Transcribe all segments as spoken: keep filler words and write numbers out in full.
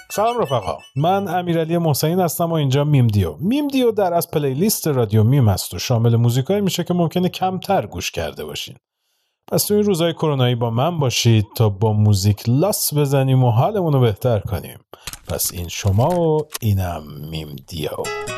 سلام رفقا، من امیرعلی محسنی هستم و اینجا میم دیو. میم دیو در از پلیلیست رادیو میم است و شامل موزیکایی میشه که ممکنه کمتر گوش کرده باشین. پس تو این روزهای کرونایی با من باشید تا با موزیک لاس بزنیم و حالمون رو بهتر کنیم. پس این شما و اینم میم دیو.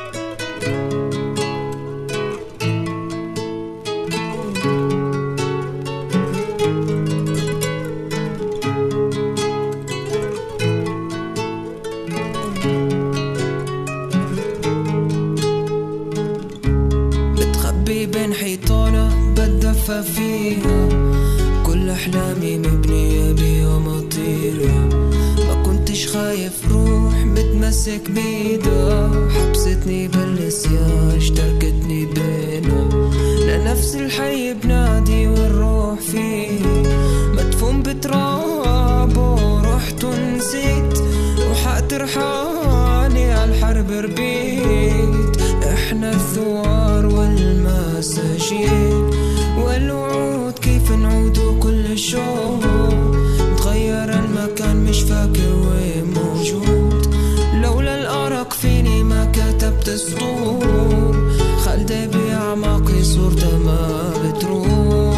بين حيطانة بتدفى فيها، كل أحلامي مبنية بيها مطيرة، ما كنتش خايف روح متمسك بيدا، حبستني بالنسيان اشتركتني بينا، لنفس الحي بنادي والروح فيه، مدفون بترابه رحت ونسيت، وحق رحالي عالحرب ربيت، احنا الثوار والمساجين والوعود كيف نعود كل شوق، تغير المكان مش فاكر وين موجود، لولا الأرق فيني ما كتبت سطور، خلدي بأعماقي صورته ما بتروح.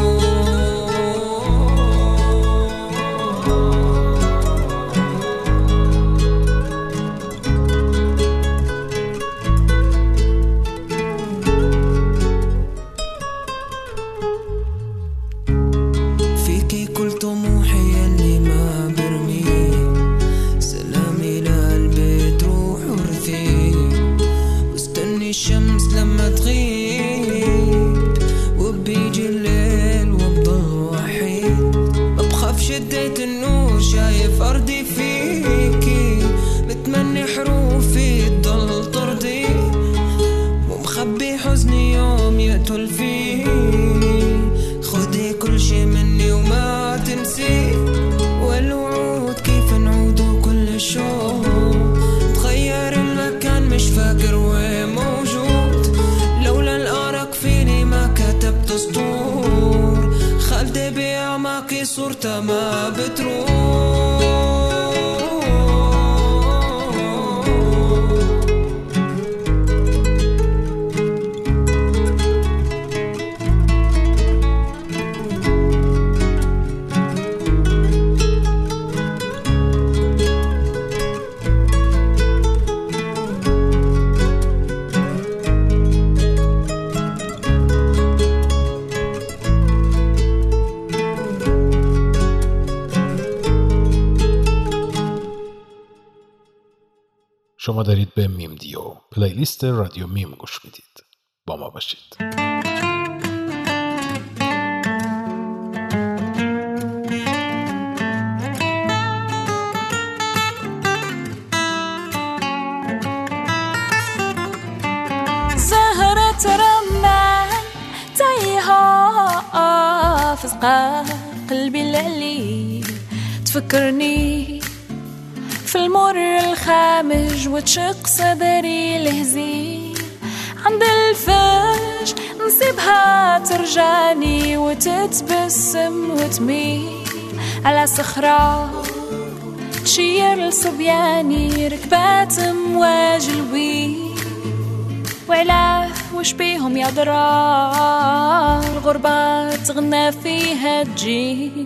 الشمس لما تغيب وبيجي الليل وبضل وحيد، ما بخاف شديت النور شايف أرضي فيكي، بتمني حروفي تضل ترضي، ومخبي حزني يوم يقتل فيه، خدي كل شي مني وما تنسي، والوعود كيف نعود كل شوق، تغير المكان مش فاكر وين موجود، لولا الأرق فيني ما كتبت سطور، خلدي بأعماقي صورته ما بتروح. شما دارید به میم دیو، پلیلیست رادیو میم گوش میدید. با ما باشید. زهرة رمان تايها في قلبي الليل، تفكرني في المر الخامج وتشق صدري الهزيل، عند الفج نسيبها ترجاني وتتبسم وتميل على صخرة تشير لصبياني، ركبات امواج الويل، وعلاه وش بيهم يا درا الغربة تغنى فيها تجيل،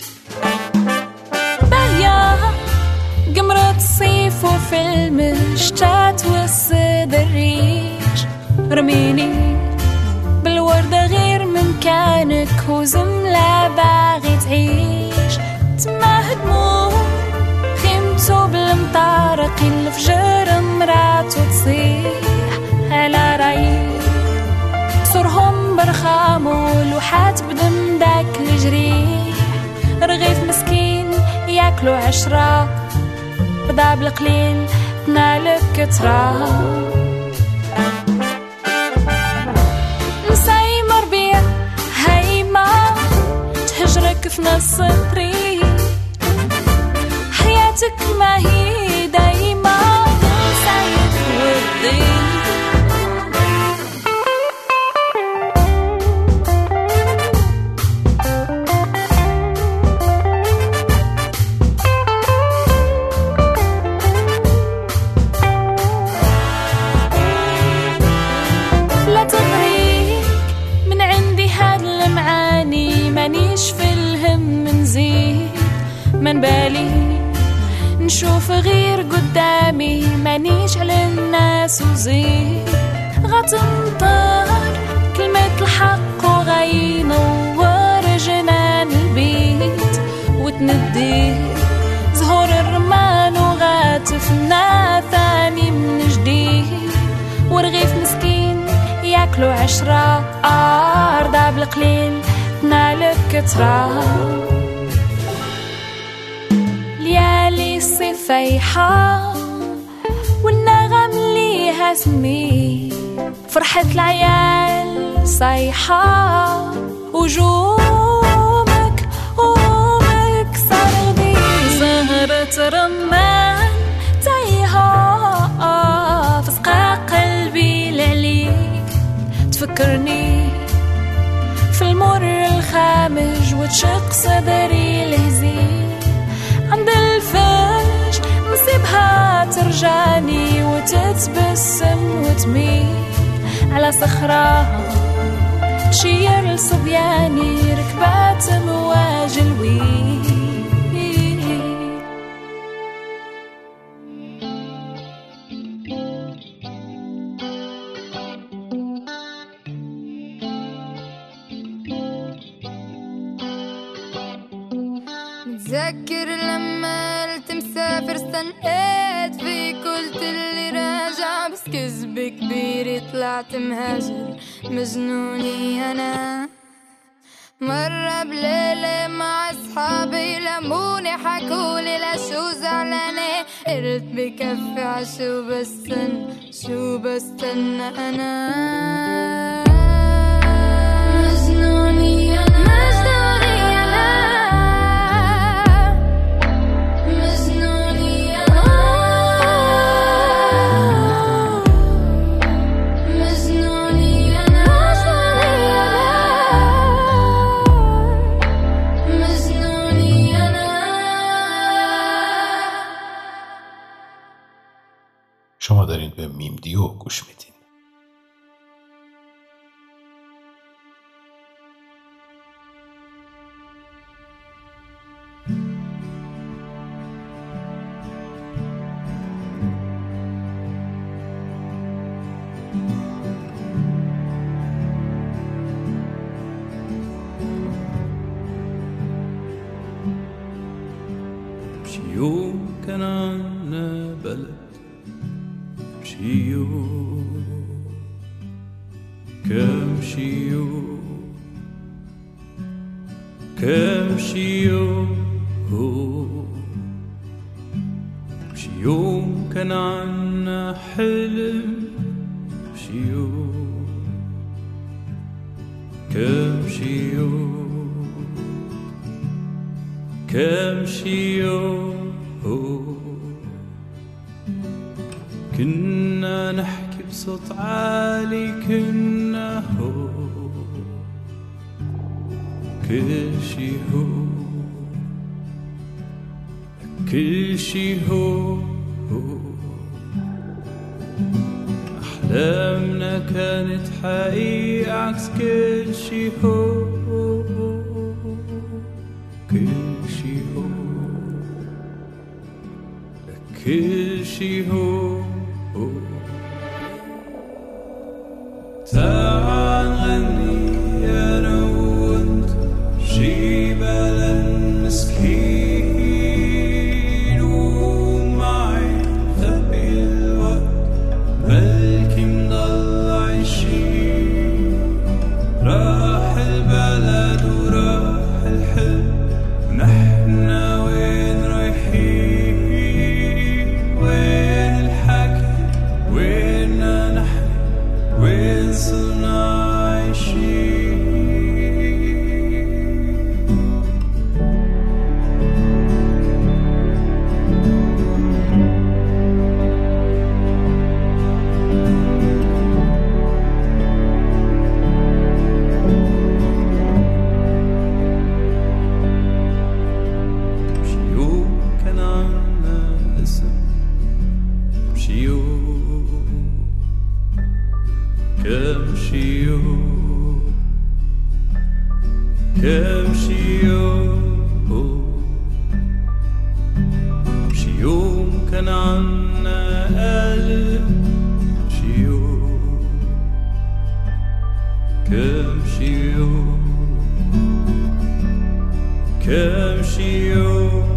باهية قمرة الصيف وفي المشتات والصيد الريش، رميني بالوردة غير من كانك وزملة باغي تعيش، تما هدمو خيمتو بالمطارق الفجر مراتو تصيح على رايق، صورهم برخام ولوحات بدم داك الجريح، رغيف مسكين ياكلو عشرة بدا بالقليل تنالك كترة، نسايمة ربيع هايمة تهجرك في نص الطريق، حياتك ما هي دايمة سايد ودي. مانيش في الهم نزيد من بالي نشوف غير قدامي مانيش على الناس وزيد غتنطر كلمة الحق وغينور جنان البيت وتندي زهور الرمان وغاتفنا ثاني من جديد ورغيف مسكين ياكلوا عشرة أرضى بالقليل تنالك كترة ليالي الصفيحة والنغم ليها سمي فرحة العيال صيحة وجومك ومك صردي زهرة رمان تايها فسقى قلبي لعليك تفكرني في المر الخامج وتشق صدري الهزيل عند الفج نسيبها ترجعني وتتبسم وتميل على صخرة تشير لصبياني ركبات مواج الويل متذكر لما قلت مسافر استنقيت فيك قلت اللي راجع بس كذب كبير طلعت مهاجر مجنوني أنا مرة بليلة مع أصحابي لموني حكولي لشو زعلانة قلت بكفي عشو بستن شو بستنى أنا مجنوني أنا شما دارین به میم دیو گوش میدین. يوم كان عنا بلد شيو كم شيو كم شيو شيو كان عنا حلم شيو كم شيو كم شيو كنا نحكي بصوت عالي كنا هو كل شي هو كل شي هو أحلامنا كانت حقيقة عكس كل شي هو كل شي هو كل شي هو تعال غني أنا وأنت شي بلد مسكين ومعي خبي الوقت بلكي مضل عايشين راح البلد وراح الحلم ونحنا وين رايحين وين الحكي وين نحن وين صرنا عايشين شي يوم شي يوم كان عنا قلب شي يوم كم شي يوم كم شي يوم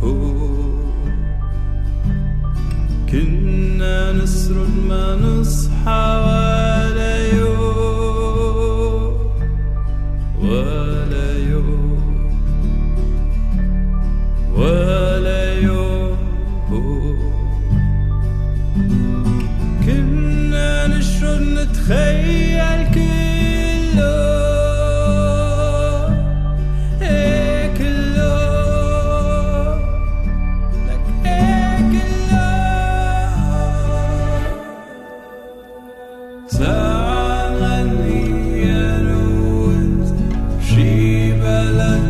كنا نسرد ما نصحى ولا يوم ولا يوم ولا يوم كنا نشرد نتخيل كله ايه كله لك ايه كله ساعة نغني يا روز شي بلد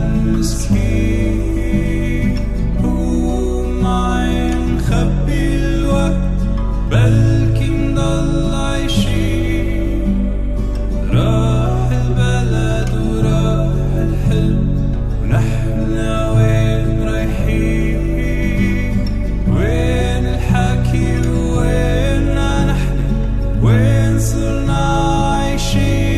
مسكين ومعي نخبي الوقت بلكي نضل عايشين راح البلد وراح الحلم ونحن وين رايحين وين الحكي وين نحن وين صرنا عايشين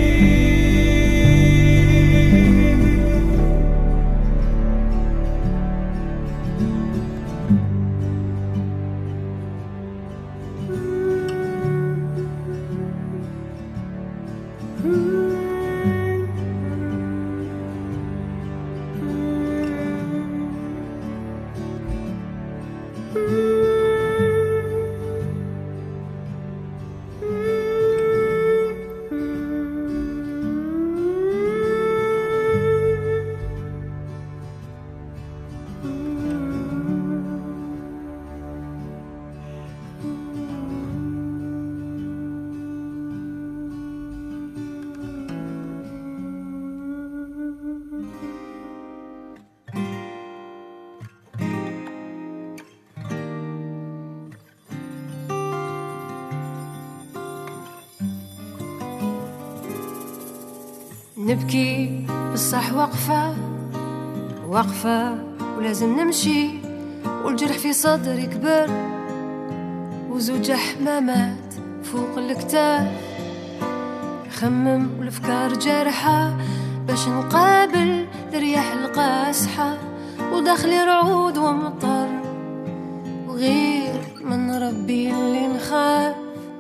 نبكي بالصح وقفة وقفة ولازم نمشي والجرح في صدري كبر وزوج حمامات فوق الكتاب خمم والافكار جارحة باش نقابل الرياح القاسحة وداخلي رعود ومطر وغير من ربي اللي نخاف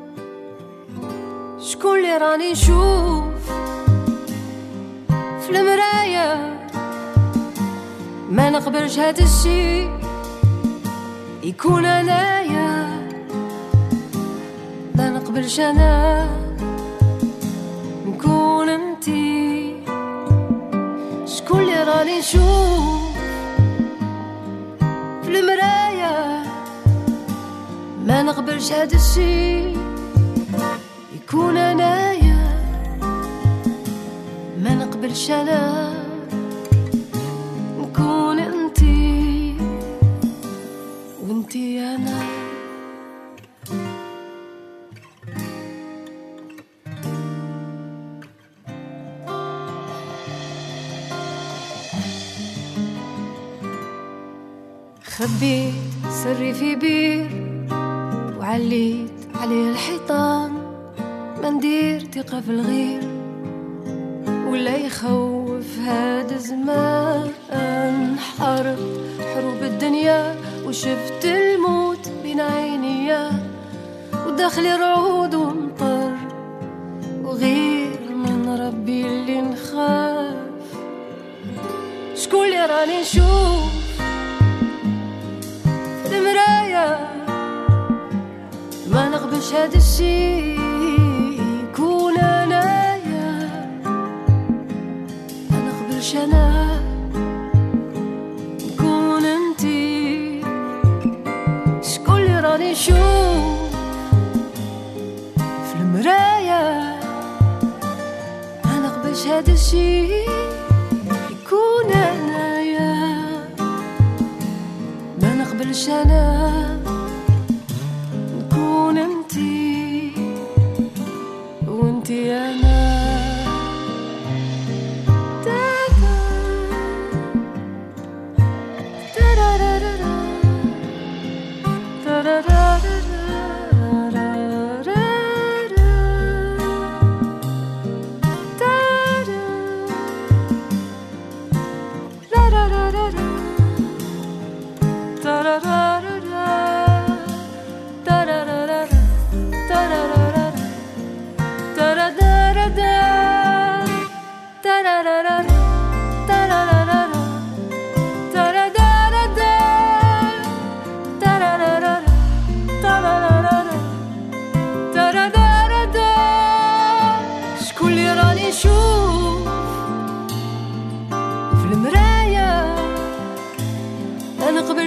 شكون اللي راني نشوف في المراية ما نقبلش هاد الشي يكون انايا لا نقبلش انا نكون انتي شكون اللي راني نشوف في المراية ما نقبلش هاد الشي يكون انايا ما نقبلش انا نكون انتي وانتي انا خبيت سري في بير وعليت عليه الحيطان ما ندير ثقة في الغير ولا يخوف هاد الزمان حاربت حروب الدنيا وشفت الموت بين عينيا وداخلي رعود ومطر وغير من ربي اللي نخاف شكون اللي راني نشوف في المراية ما نقبلش هاد الشي يكون انايا ما نقبلش انا نكون انتي شكون اللي راني نشوف في المراية ما نقبلش هاد الشي يكون انايا ما نقبلش انا نكون انتي وانتي انا دابا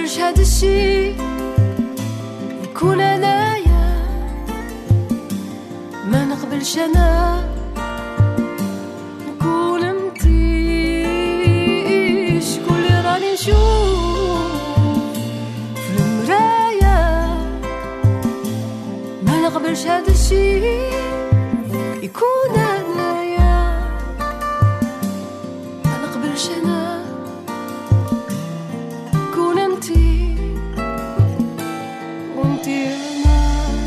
نقبلش هاد الشي يكون انايا، ما نقبلش انا نكون انتي. شكون اللي راني نشوف في المرايا، ما نقبلش هاد الشي يكون انايا، ما نقبلش انا كون انتي وانتي انا.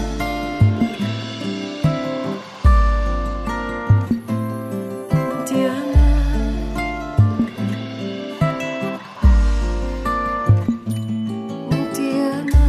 انتي انا وانتي انا.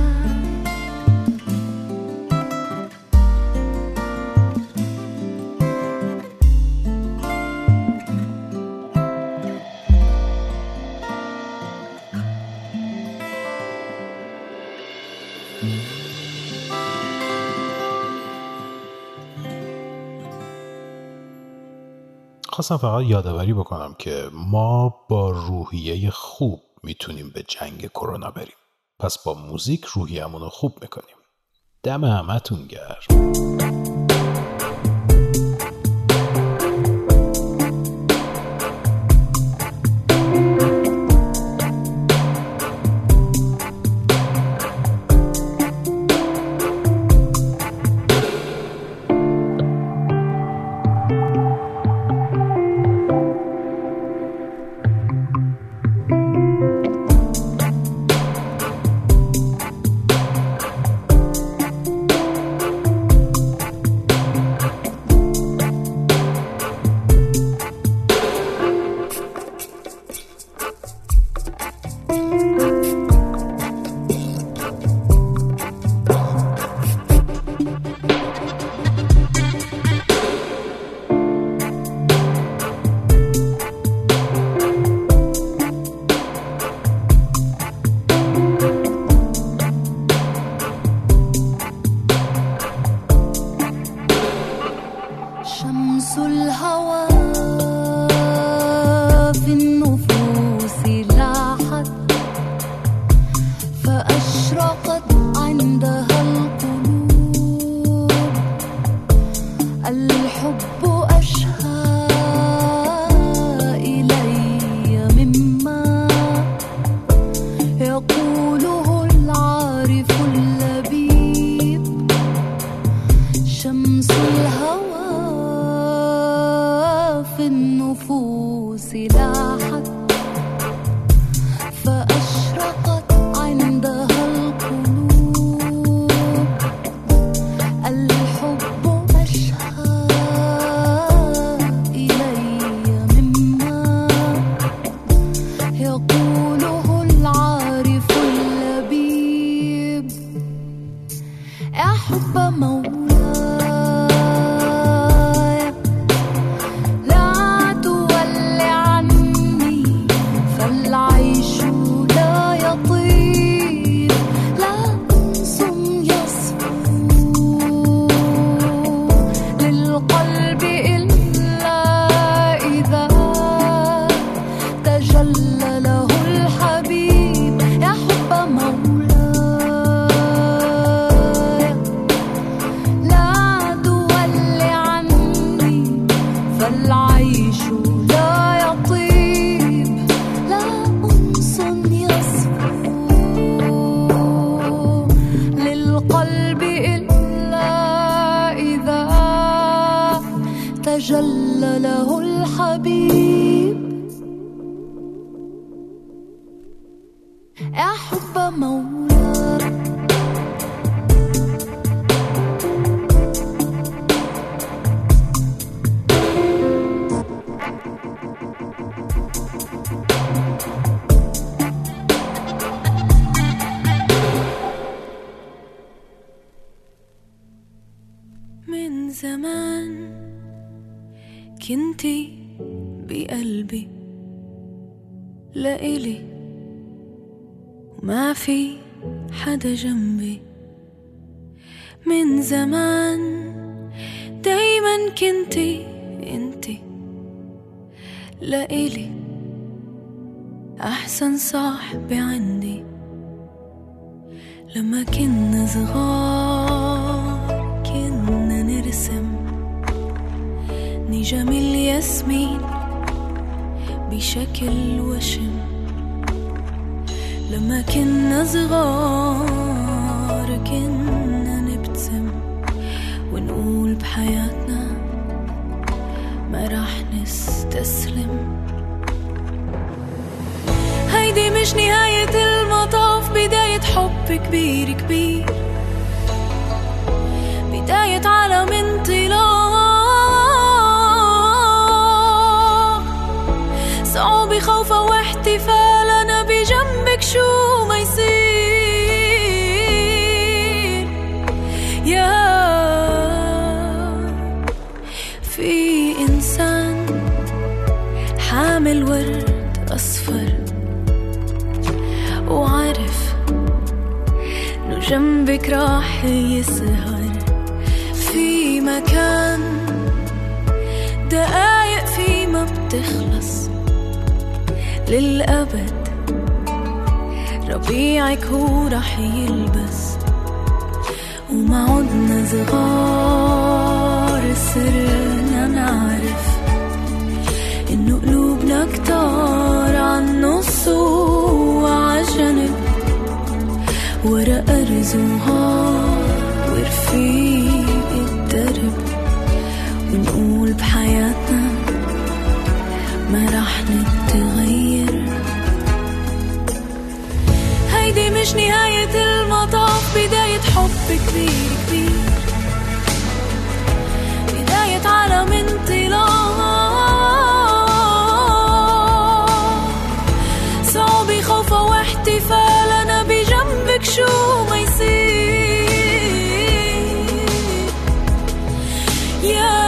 خواستم فقط یادآوری بکنم که ما با روحیه خوب میتونیم به جنگ کرونا بریم. پس با موزیک روحیه‌مون رو خوب میکنیم. دم همتون گرم. تجلى له الحبيب. يا حب مولاي من زمان كنتي بقلبي لإلي وما في حدا جنبي. من زمان دايما كنتي انتي لإلي أحسن صاحبي عندي. لما كنا صغار كنا نرسم نجم الياسمين بشكل وشم. لما كنا صغار كنا نبتسم ونقول بحياتنا ما راح نستسلم. هيدي مش نهاية المطاف، بداية حب كبير كبير، بداية عالم انطلاق. صعوبة خوفة واحتفال، أنا بجنبك شو ما يصير. يا في إنسان حامل ورد أصفر وعارف إنه جنبك راح يسهر في مكان دقايق في ما بتخلص للأبد. ربيعك هو راح يلبس وما عدنا صغار، صرنا نعرف إنه قلوبنا كتار عالنص وعجنب ورا أرز وهار ورفيق الدرب. ونقول بحياتنا ما راح نتغير. هيدي مش نهاية المطاف، بداية حب كبير كبير، بداية عالم انطلاق. صعوبة خوفة واحتفال، أنا بجنبك شو ما يصير. يا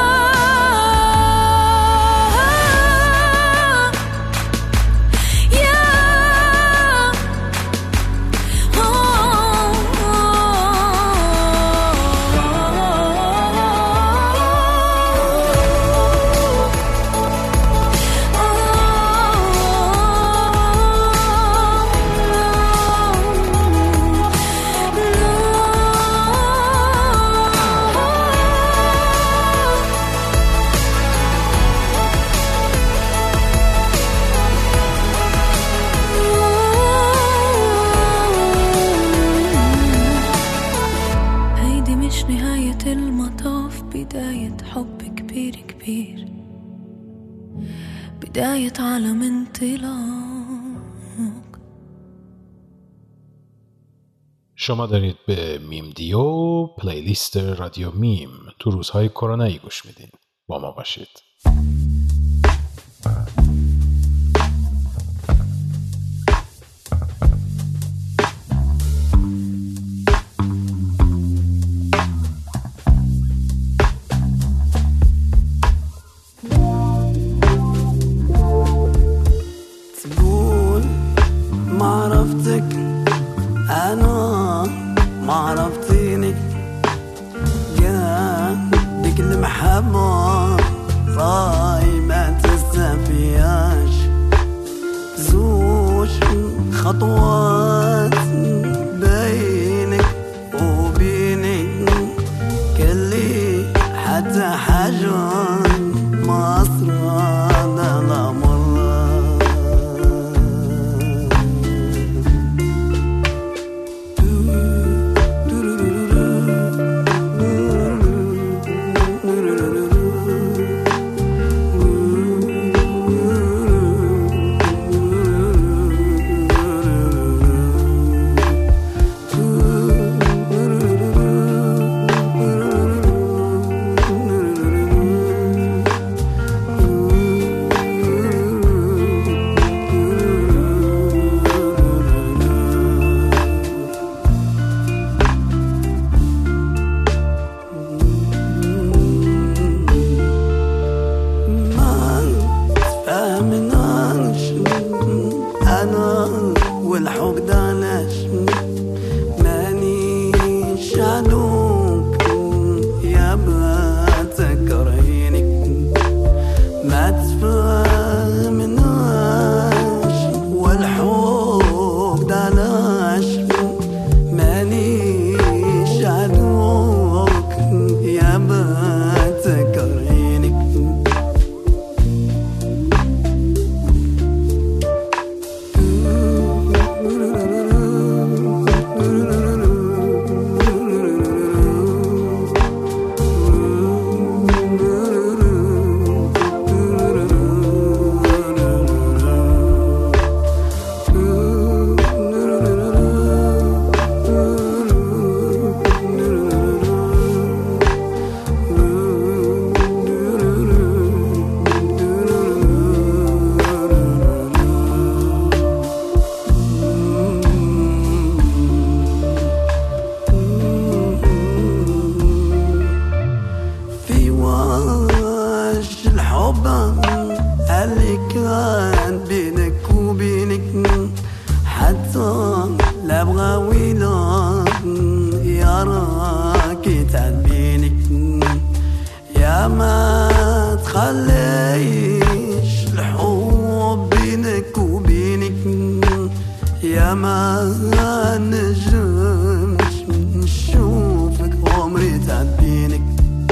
بداية عالم انطلاق. شما دارید به میم دیو، پلیلیست رادیو میم، تو روزهای کرونایی گوش میدین. با ما باشید. do يا ما نجم نشوفك عمري تعبينك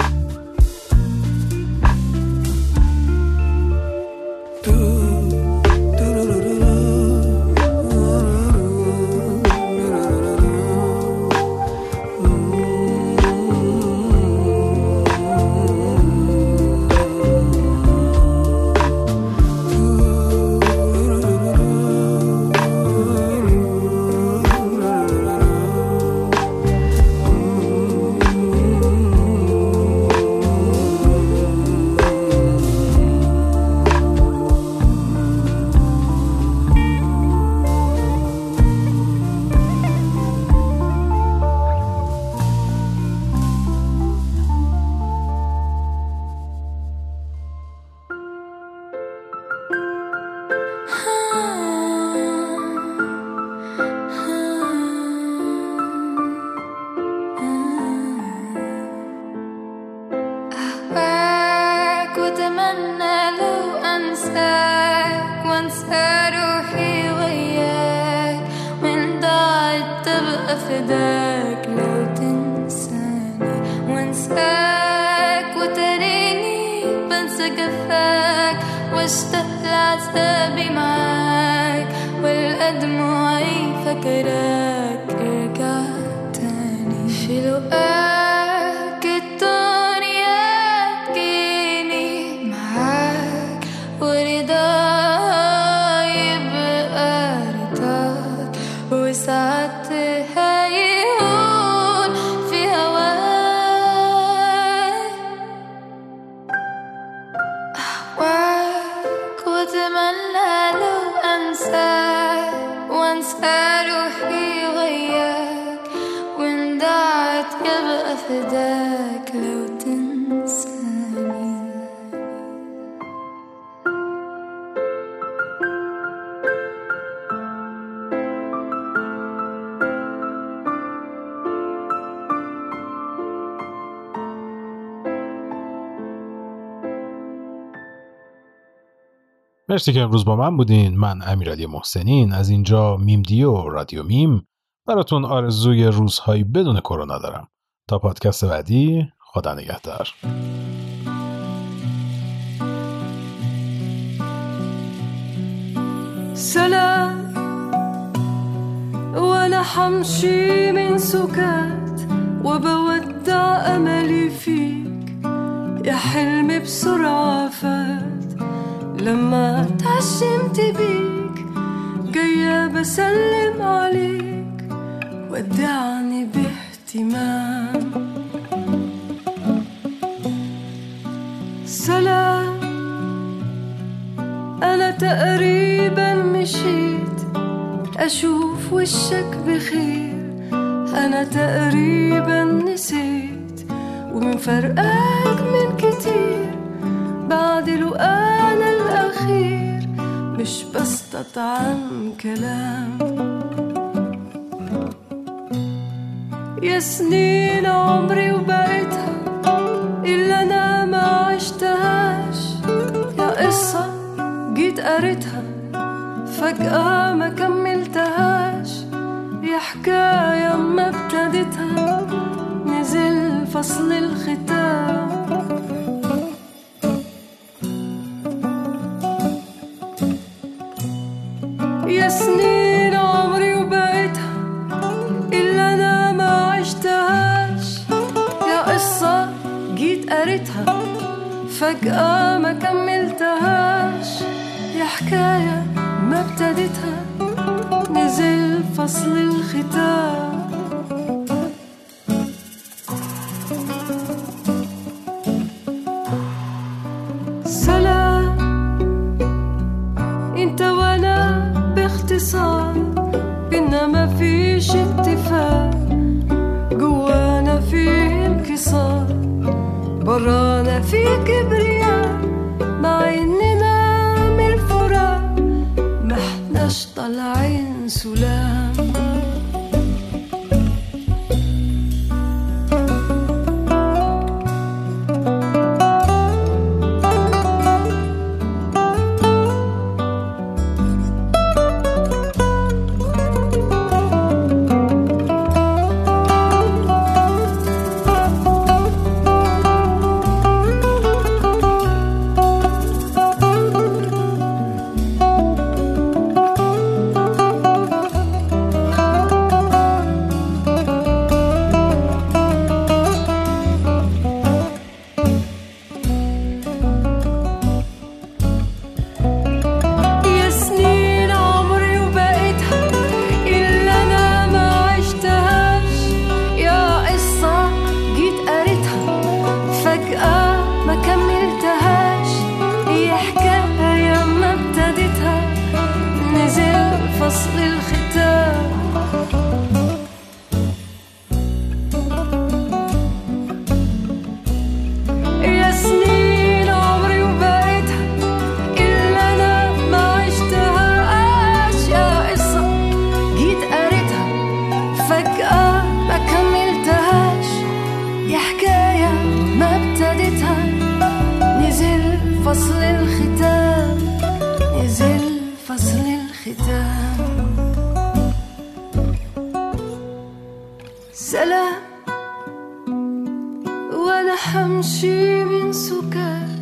فداك لو تنساني وانساك وتريني بنسى جفاك واشتاق لعذابي معاك والأدمعي فكراك ارجع تاني في لقاك الدنيا تجيني معاك ورضاي يبقى رضاك وساعتها فداك لو تنساني. مرسی که امروز با من بودین. من امیرعلی محسنین از اینجا میم دیو رادیو میم براتون آرزوی روزهایی بدون کرونا دارم. تا پادکست بعدی، خدا نگهدار. سلام وانا حمشي من سكات وبودع املي فيك يا حلمي بسرعة فات لما تعشمت بيك جاية بسلم عليك ودعني باهتمام. سلام أنا تقريبا مشيت أشوف وشك بخير أنا تقريبا نسيت ومن فرقك من كتير بعد لقانا الأخير مش بستطعم كلام. يا سنين عمري وبقيتها إلا أنا ما عشتهاش يا قصة جيت قريتها فجأة ما كملتهاش يا حكاية ما ابتديتها نزل فصل الختام. يا سنين عمري وبقيتها إلا أنا ما عشتهاش يا قصة جيت قريتها فجأة ما كملتهاش يا حكاية ما ابتديتها نزل فصل الختام. سلام انت وانا باختصار بينا ما فيش اتفاق جوانا فيه انكسار برانا فيه كبرياء مع اننا من الفراق ما احناش طالعين سلام. ايتام. سلام وانا حمشي من سكات